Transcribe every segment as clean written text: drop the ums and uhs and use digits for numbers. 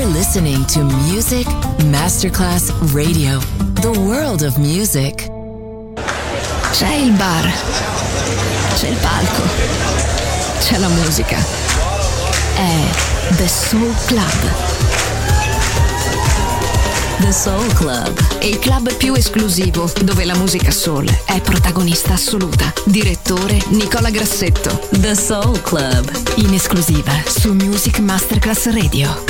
You're listening to Music Masterclass Radio, the world of music. C'è il bar, c'è il palco, c'è la musica. È The Soul Club. The Soul Club, Il club più esclusivo dove la musica soul è protagonista assoluta. Direttore Nicola Grassetto. The Soul Club, In esclusiva su Music Masterclass Radio.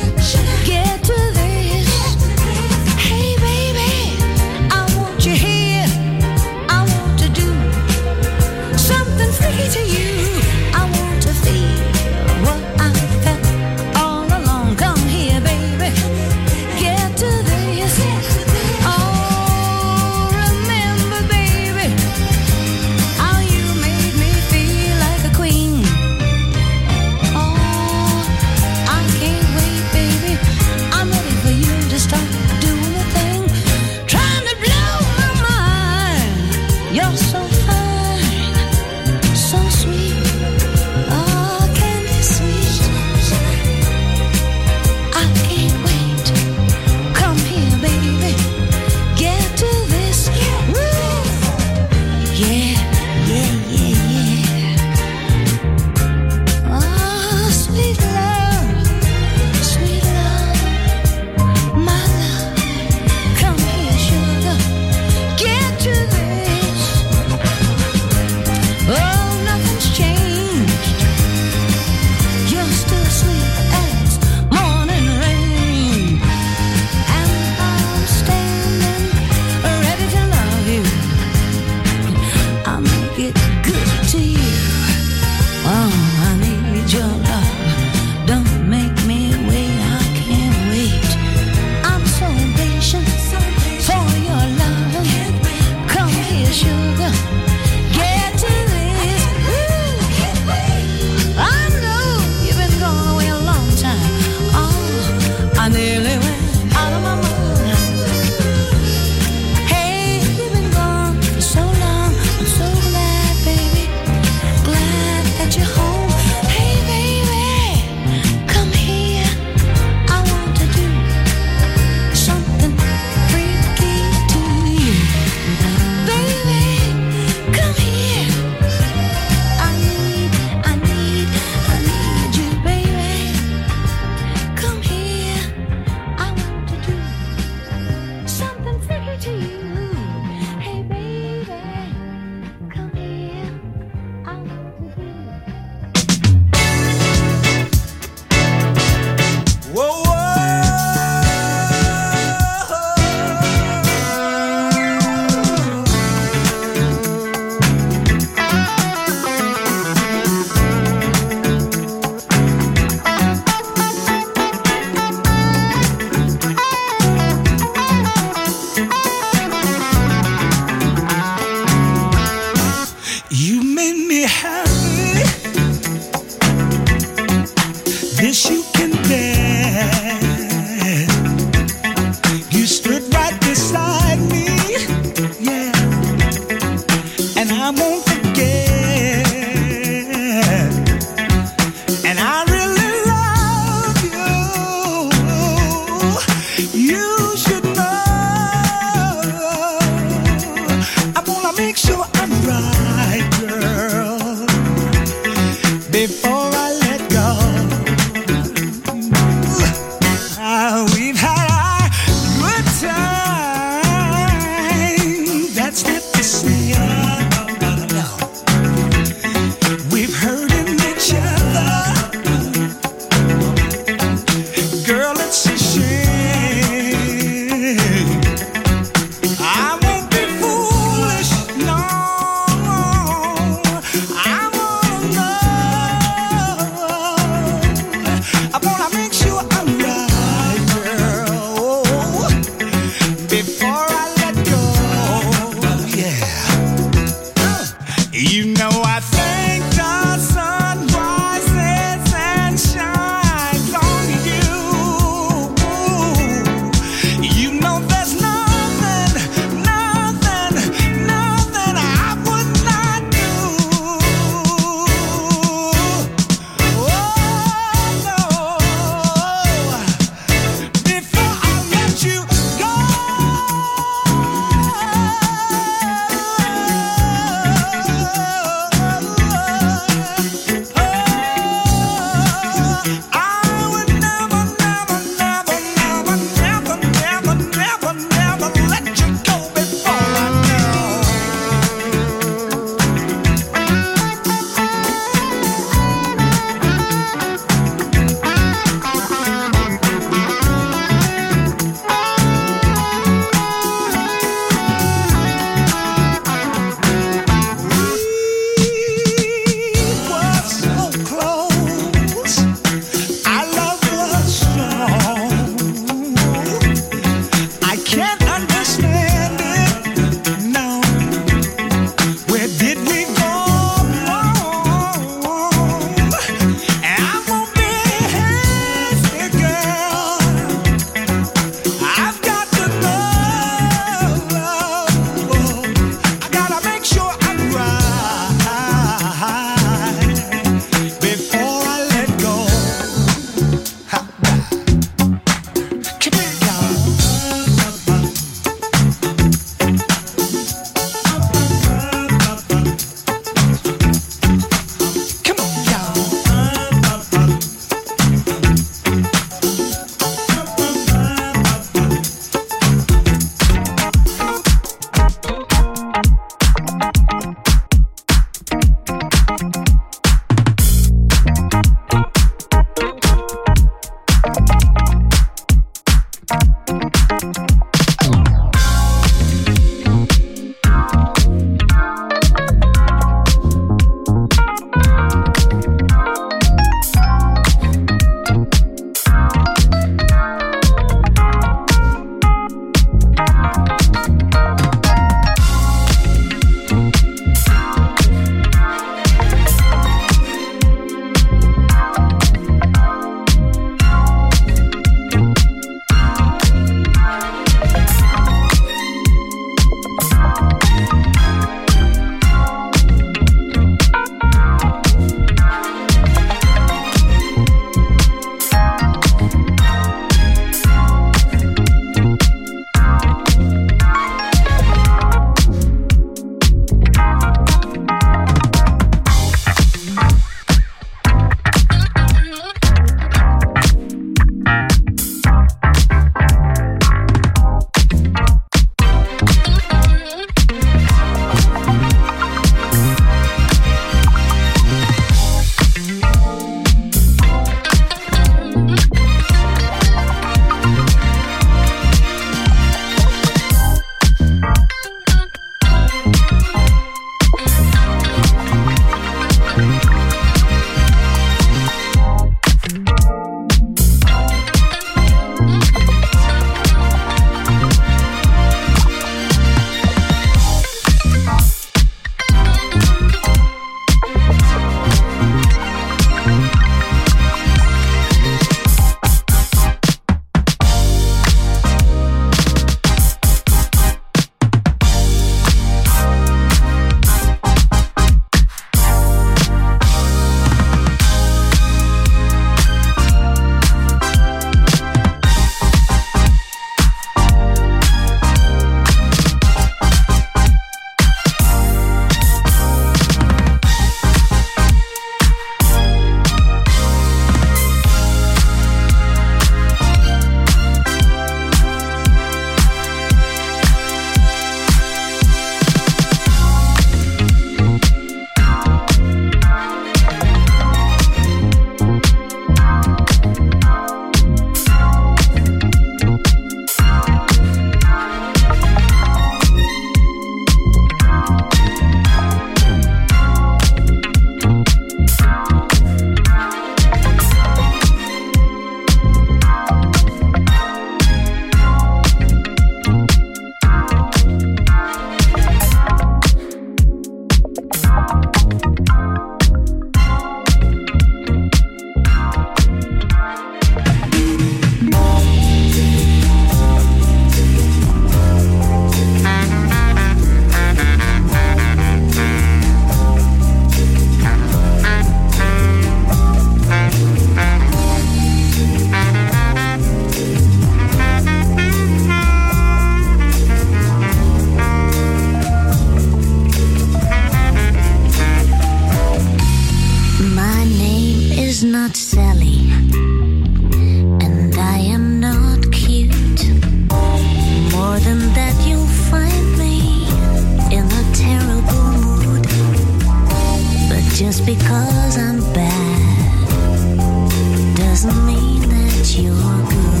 She's not Sally, and I am not cute. More than that, you'll find me in a terrible mood. But just because I'm bad doesn't mean that you're good.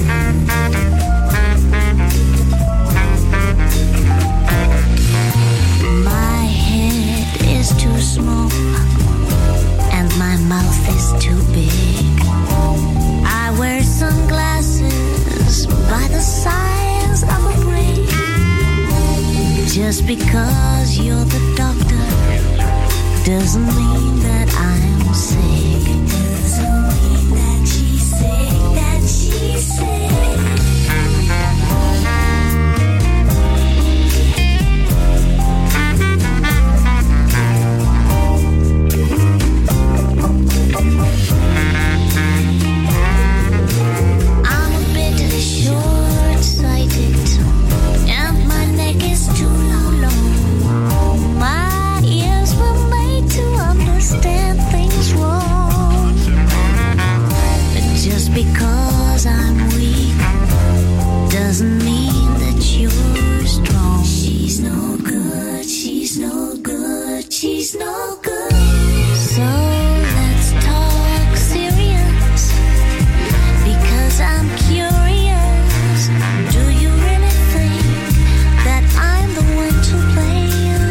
My head is too small and my mouth is too big. I wear sunglasses by the size of a brick. Just because you're the doctor doesn't mean that I'm sick. Doesn't mean that she's sick, that she's sick. Because I'm weak doesn't mean that you're strong. She's no good, she's no good, she's no good. So let's talk serious, because I'm curious. Do you really think that I'm the one to blame?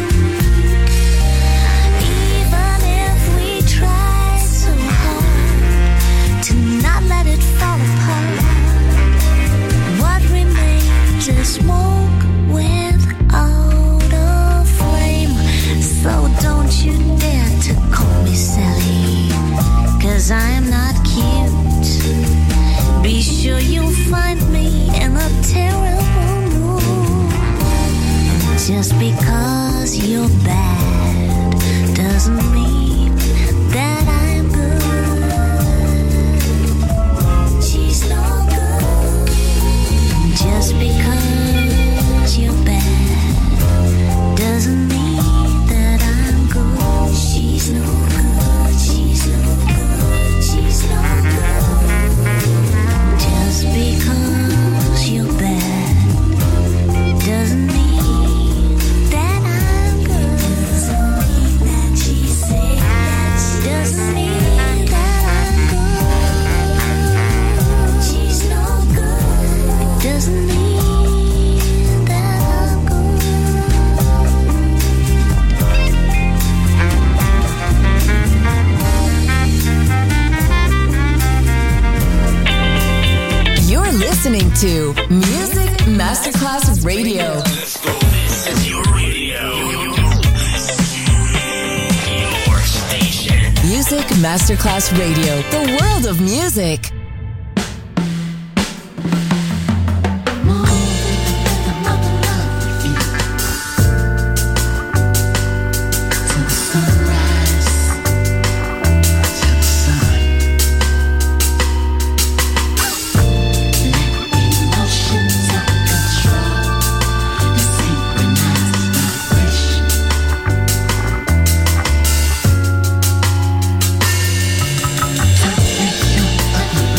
Even if we try so hard to not let it fall apart, what remains is smoke without a flame. So don't you dare to call me Sally, 'cause I'm not cute. Be sure you'll find me in a terrible mood. Just because you're bad doesn't mean that I'm good. She's no good. Just because you're bad doesn't mean that I'm good. She's no good. She's no good. She's no good. Just because you're bad doesn't mean that I'm good. Doesn't mean that she's sick. Doesn't mean that I'm good. She's no good. Doesn't mean that I'm good. You're listening to Music Masterclass Radio. This is your radio. Your station. Music Masterclass Radio, the world of music. Your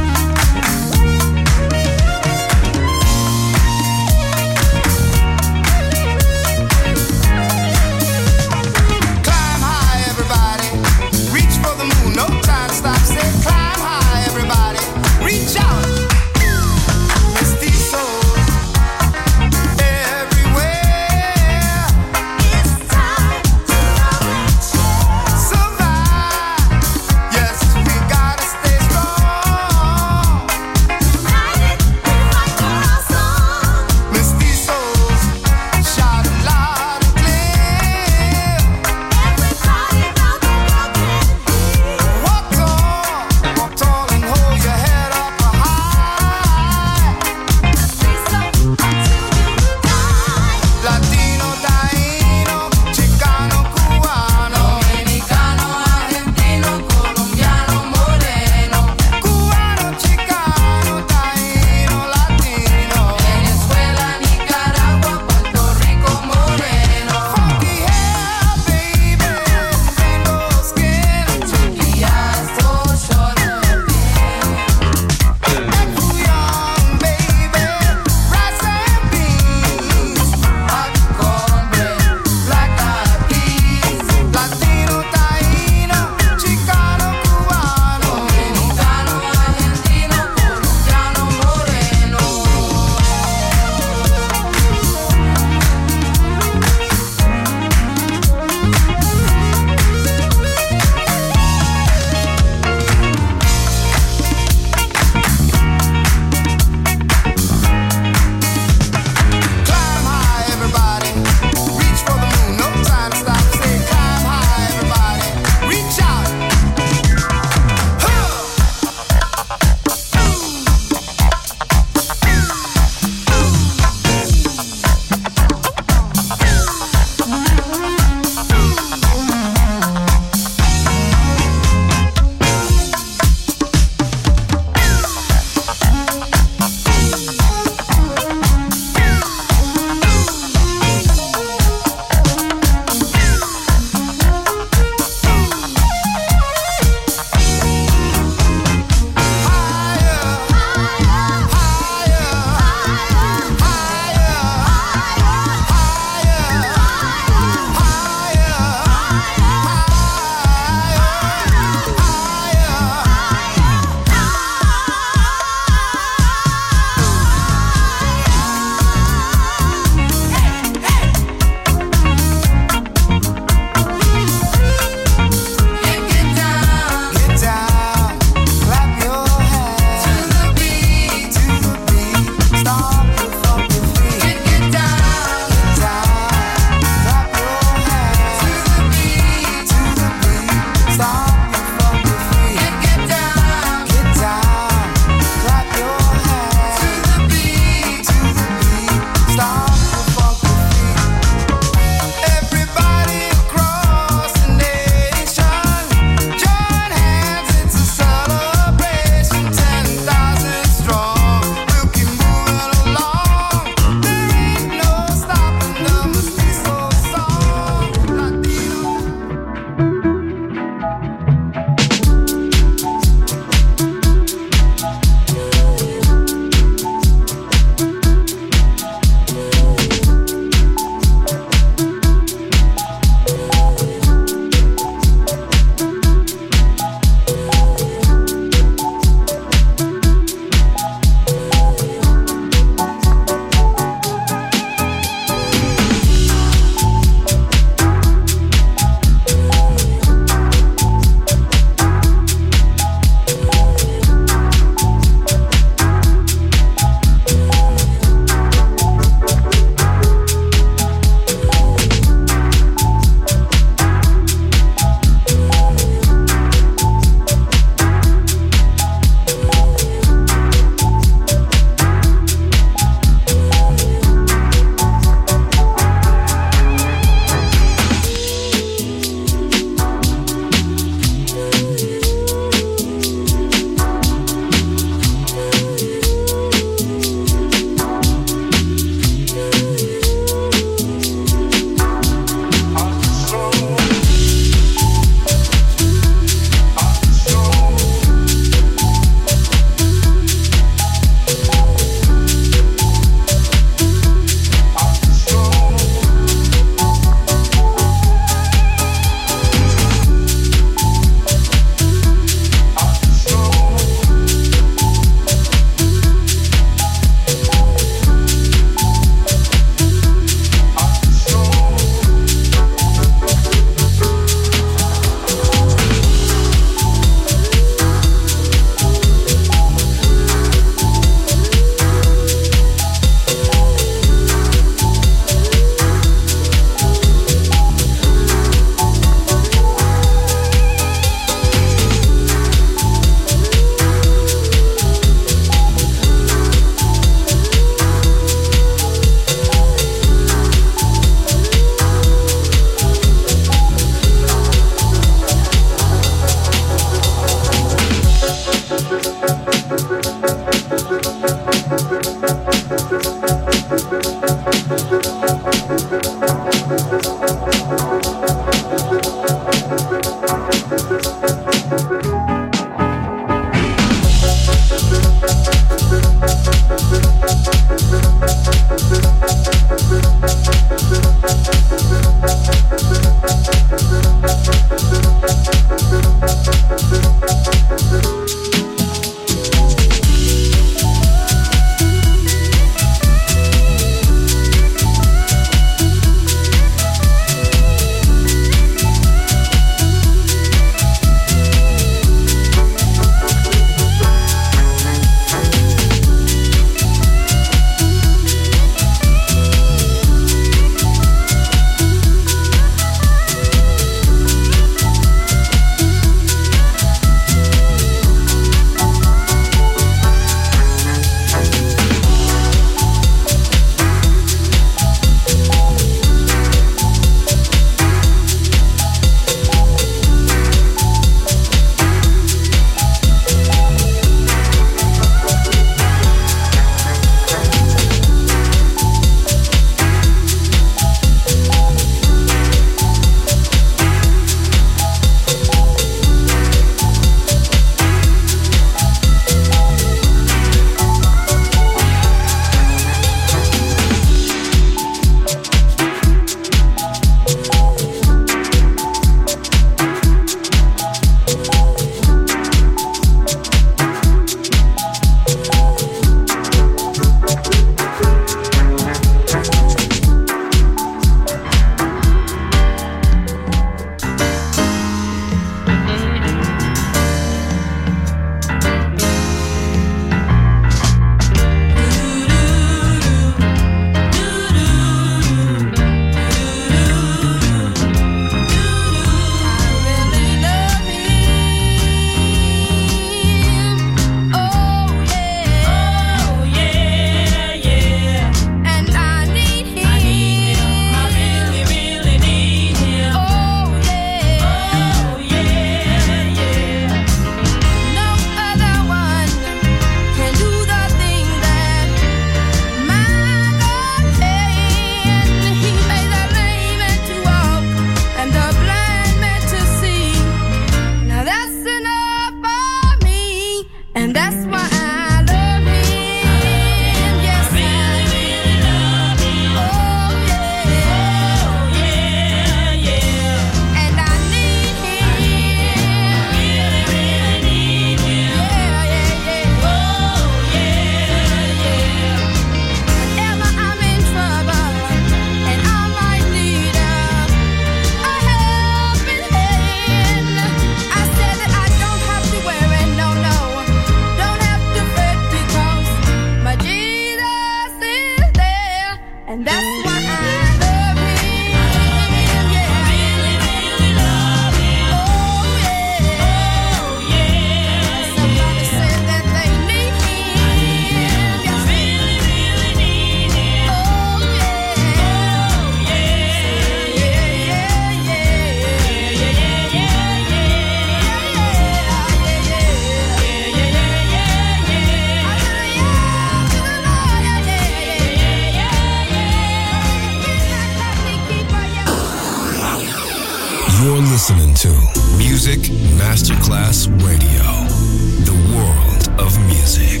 listening to Music Masterclass Radio, the world of music.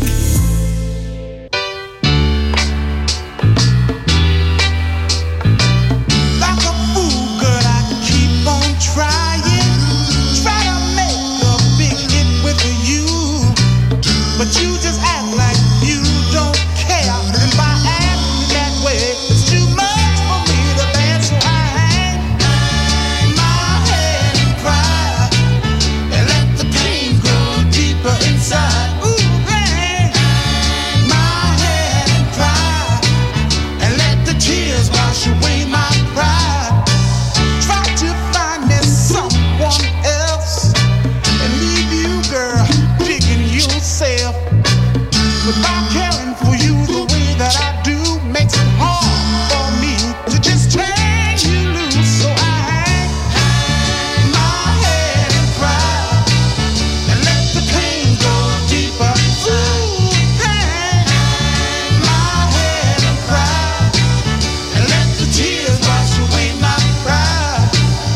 Like a fool, girl, I keep on trying. Try to make a big hit with you, but you just act like you don't care. And by acting that way, it's too much for me to bear. So I hang my head and cry and let the pain grow deeper inside. Ooh, hang my head and cry and let the tears wash away my pride. Try to find me someone else and leave you, girl, digging yourself. But by caring for you the way that I do makes it hard for me to just turn you loose. So I hang my head and cry and let the pain go deeper. Ooh, hang my head and cry and let the tears wash away my pride.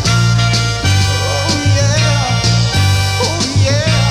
Oh yeah, oh yeah.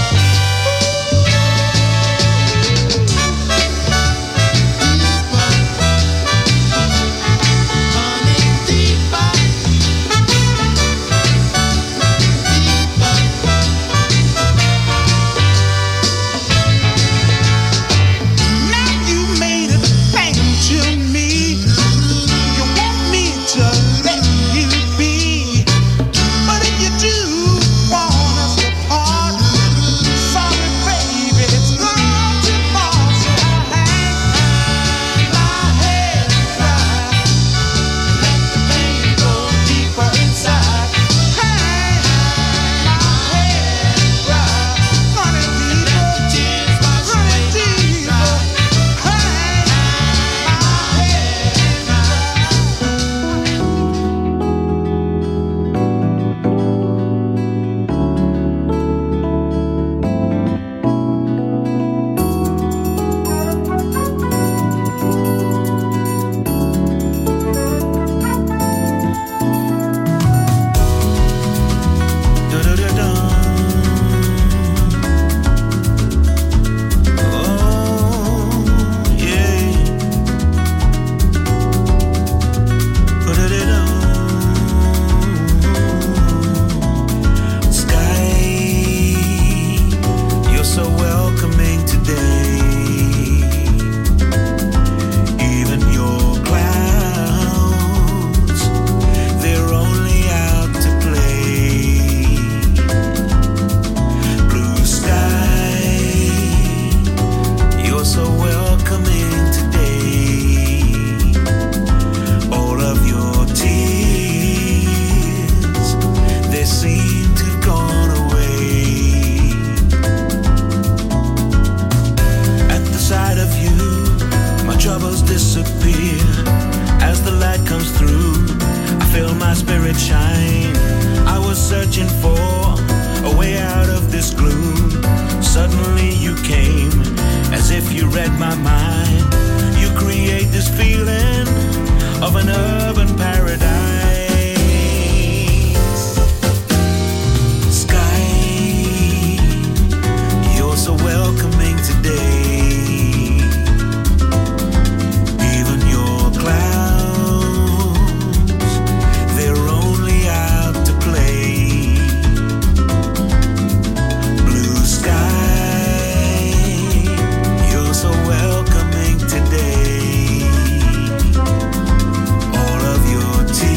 Now you made it plain to me. You want me to let you be, but if you do want us to part, sorry baby, it's gone too far. So I hang my head and cry, let the pain go deeper inside. Hang my head and cry, honey deeper, honey deeper. Hang my head and cry. You're so welcoming today. Even your clouds, they're only out to play. Blue sky, you're so welcoming today. All of your tears, they seem to have gone away. At the sight of you, my troubles disappear. As the light comes through, I feel my spirit shine. I was searching for a way out of this gloom. Suddenly you came, as if you read my mind. You create this feeling of an urban paradise. Sky, you're so welcoming today. Even your clouds, they're only out to play. Blue sky, you're so welcoming today. All of your tears,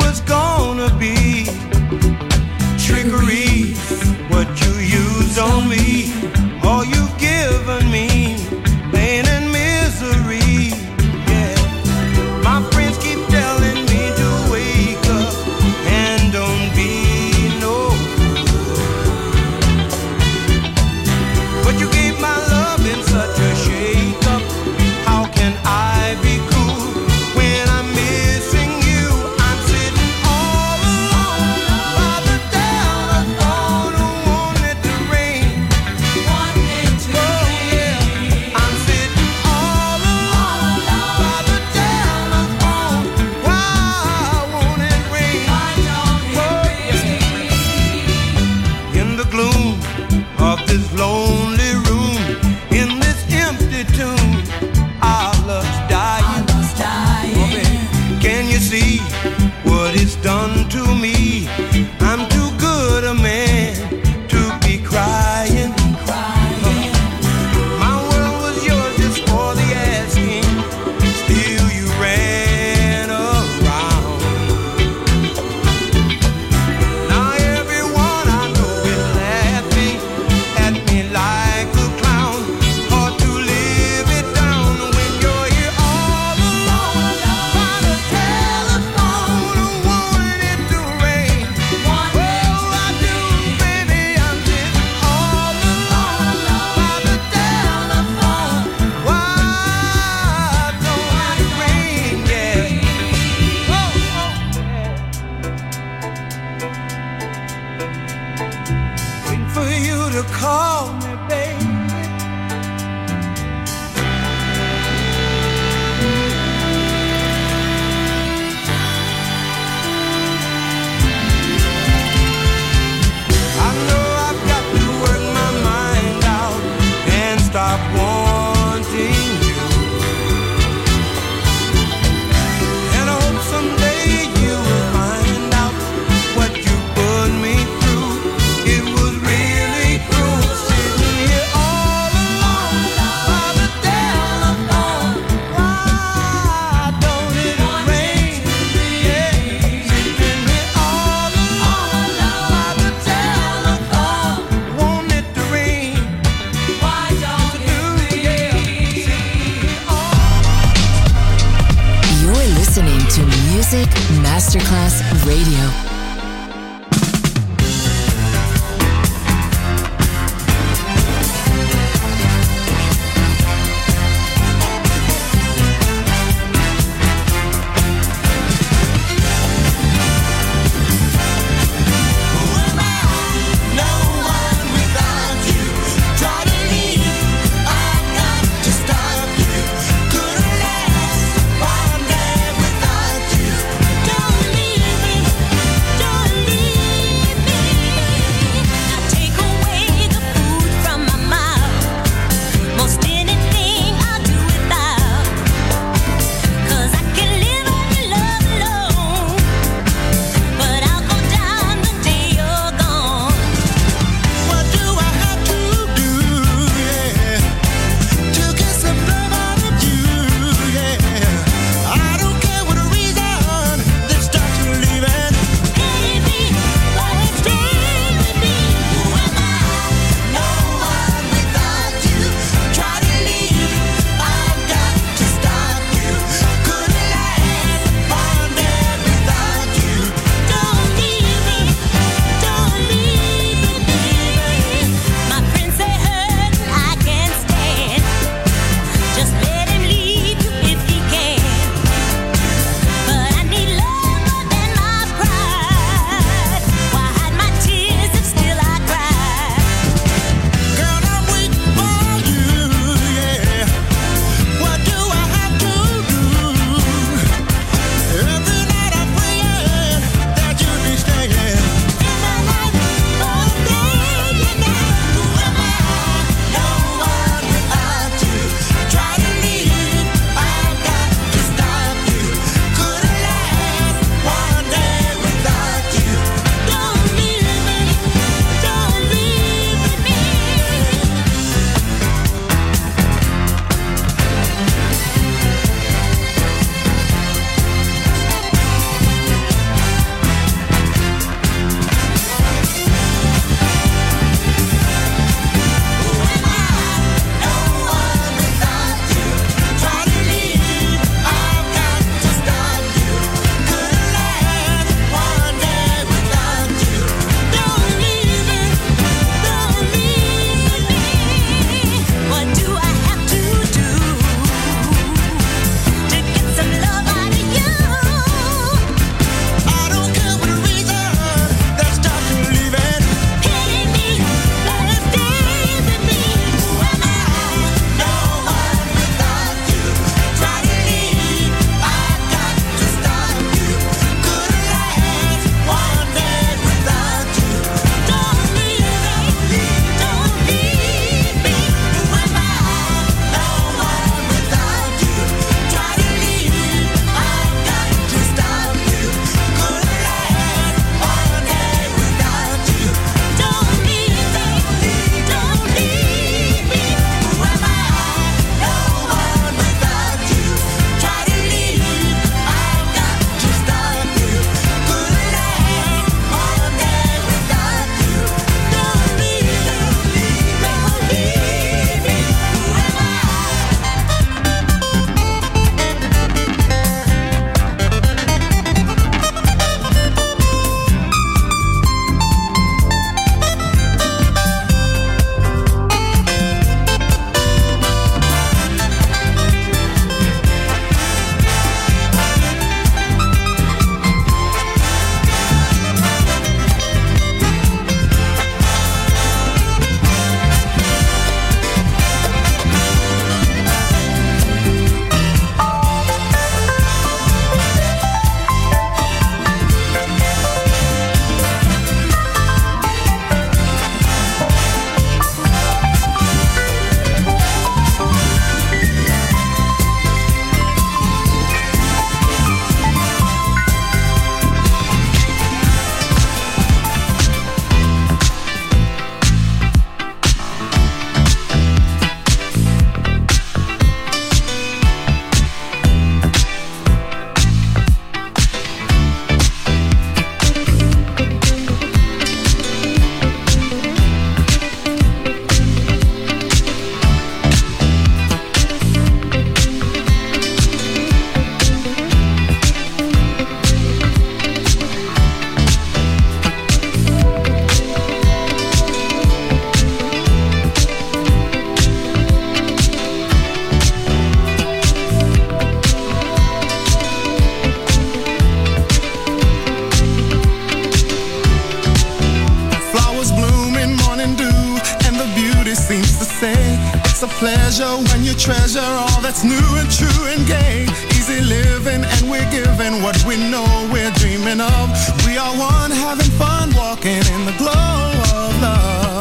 was gonna be trickery, what you used on me, all you've given me, pain and misery. Yeah, my friends keep telling me to wake up and don't be no fool. But you gave my love in such a shake up. How can I be cool when I'm missing you? I'm sitting all alone by the telephone. Who wanted to rain? I'm sitting all alone by the telephone. Why won't it rain? In the gloom of this lonely room, in this empty tomb, our love's dying. Oh, baby, can you see what it's done to me? I'm too good a man to be crying. My world was yours just for the asking. Still you ran around. Now everyone I know is laughing at me like a clown. Hard to live it down when you're here all alone by the telephone. Who wanted it to rain? Oh, I do, baby. I'm sitting all alone by the telephone. Why don't it rain? Yeah. Oh, yeah. Waiting for you to call me, baby. I know I've got to work my mind out and stop wanting you. And I hope someday you will find out what you put me through. It was really cruel sitting here all alone by the telephone. Why don't it rain? Yeah, sitting here all alone by the telephone. Want it to rain? Why don't it rain? You're listening to Music Masterclass Radio. No one without you. Try to leave, I've got to stop you. Couldn't last one day without you. Don't leave me. pleasure when you treasure all that's new and true and gay. Easy living and we're giving what we know we're dreaming of. We are one having fun walking in the glow of love.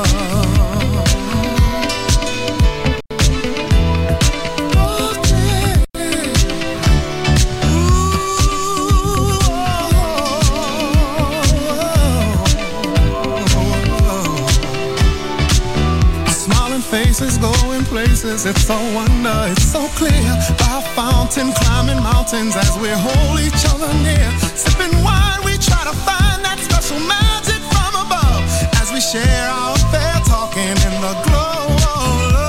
Faces going places, it's so wonder, it's so clear. By a fountain, climbing mountains as we hold each other near. Sipping wine, we try to find that special magic from above. As we share our affair, talking in the glow of love.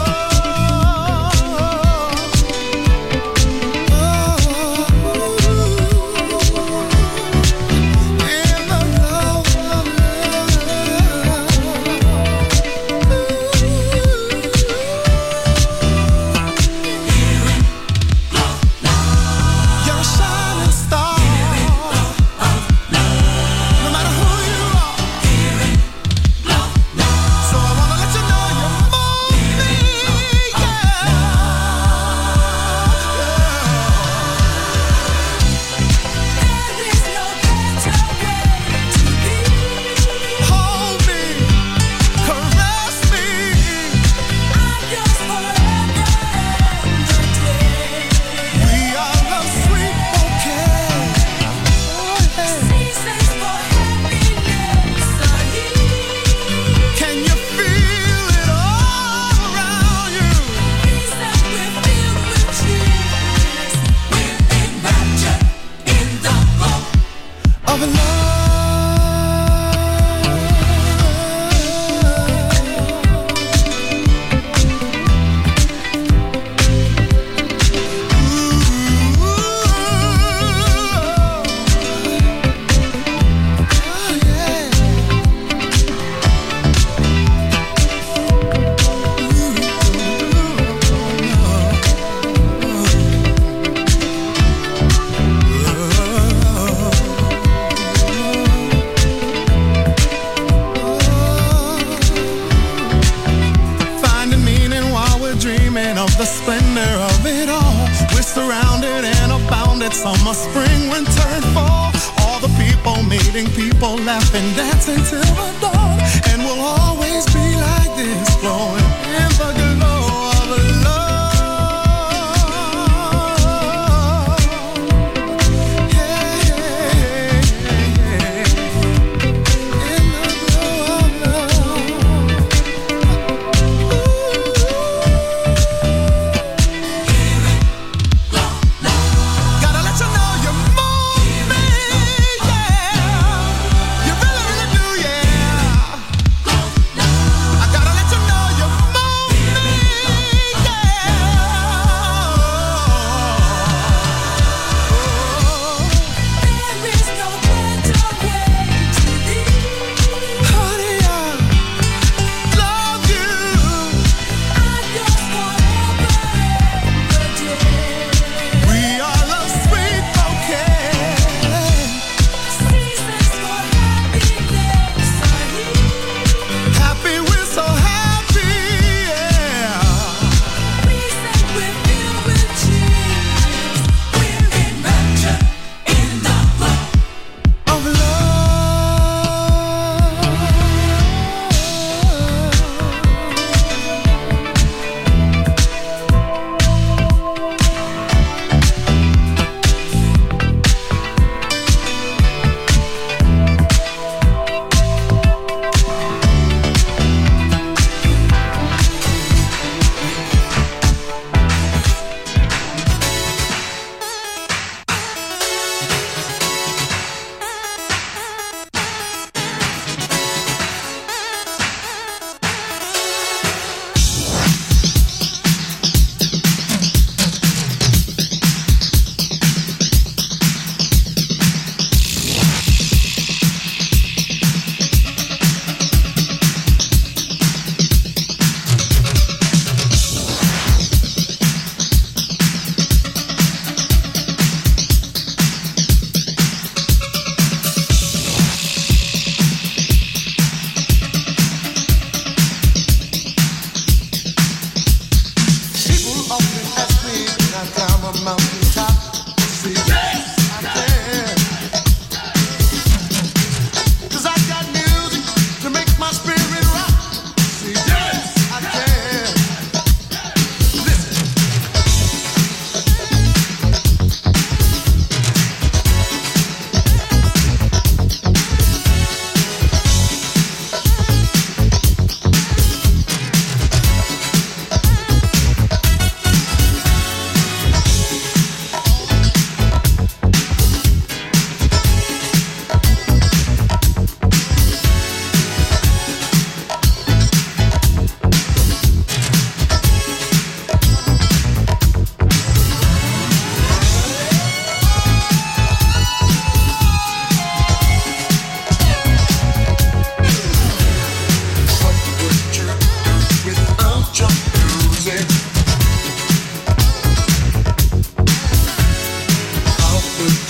Summer, spring, winter, and fall. All the people meeting people, laughing, dancing till the dawn. And we'll always be like this, flowing in the glow of love. Hey, hey, hey, hey. In the glow of love. Gotta let you know you move me, yeah. You really, really do, yeah. I gotta let you know you move me.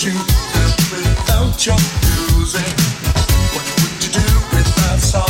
to live without your music? What would you do without song?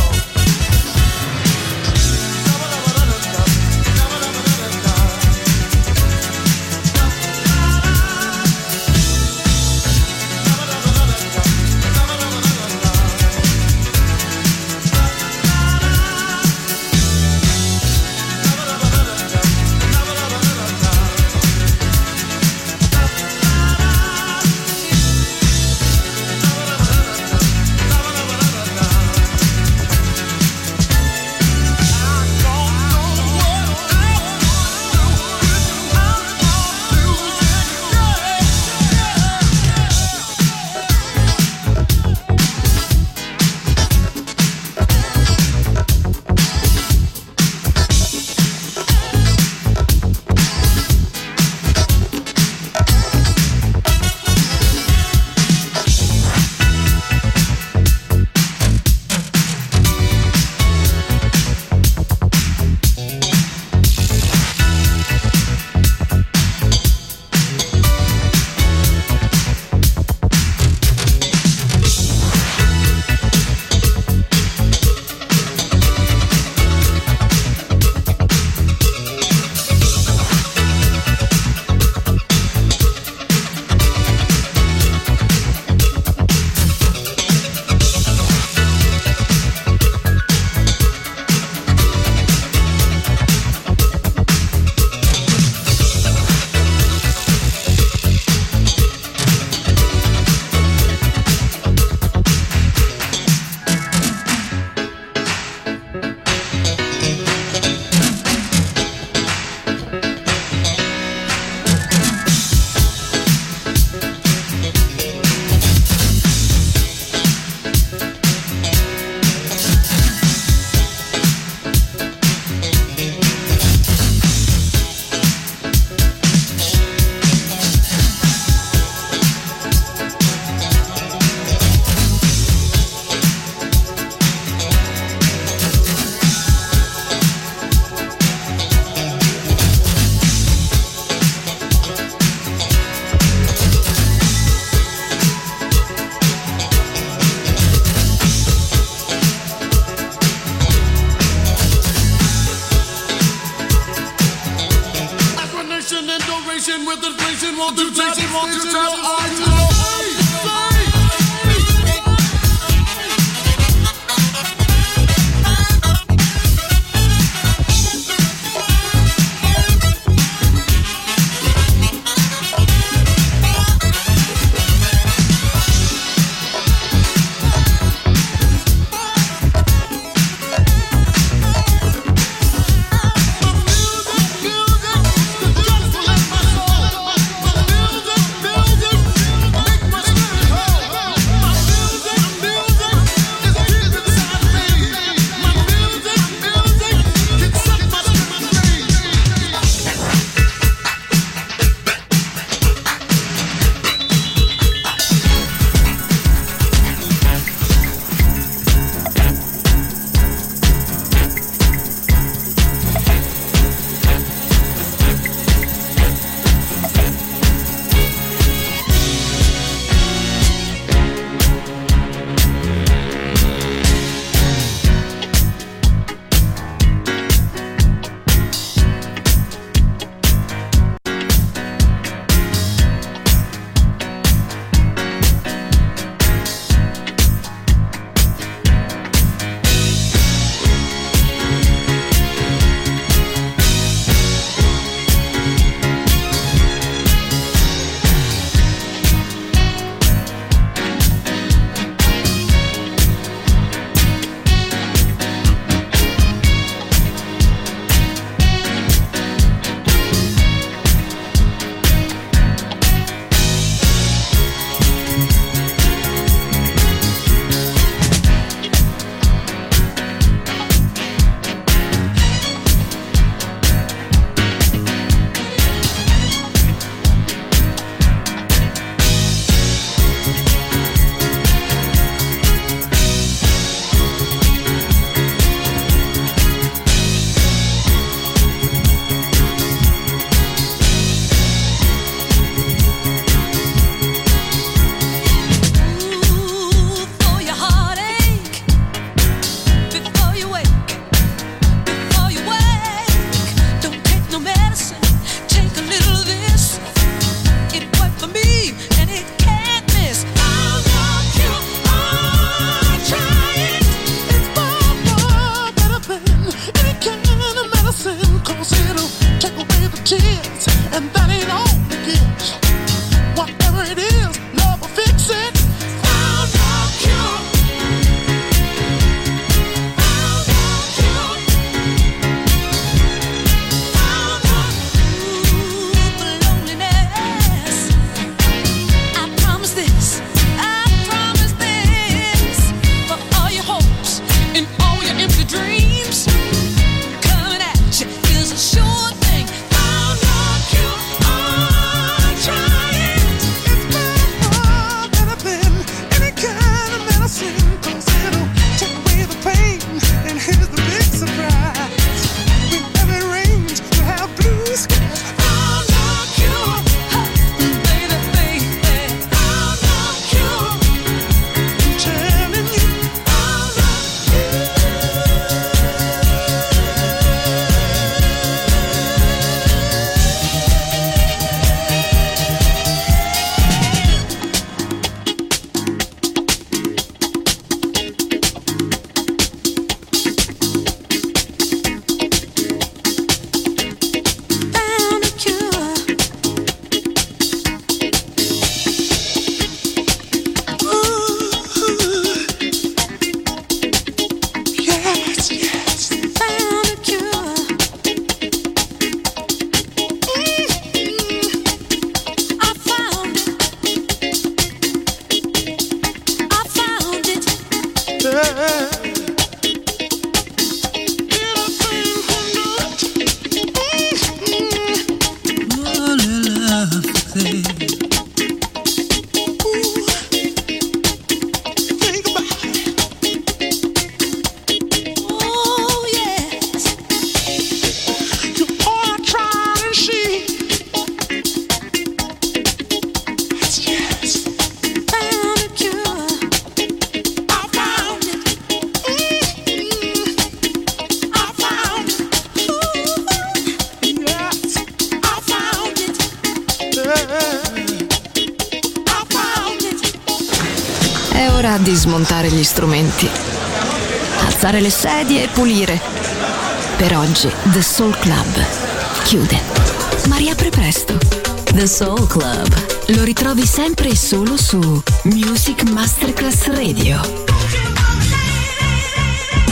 È ora di smontare gli strumenti, alzare le sedie e pulire. Per oggi The Soul Club chiude, ma riapre presto. The Soul Club lo ritrovi sempre e solo su Music Masterclass Radio.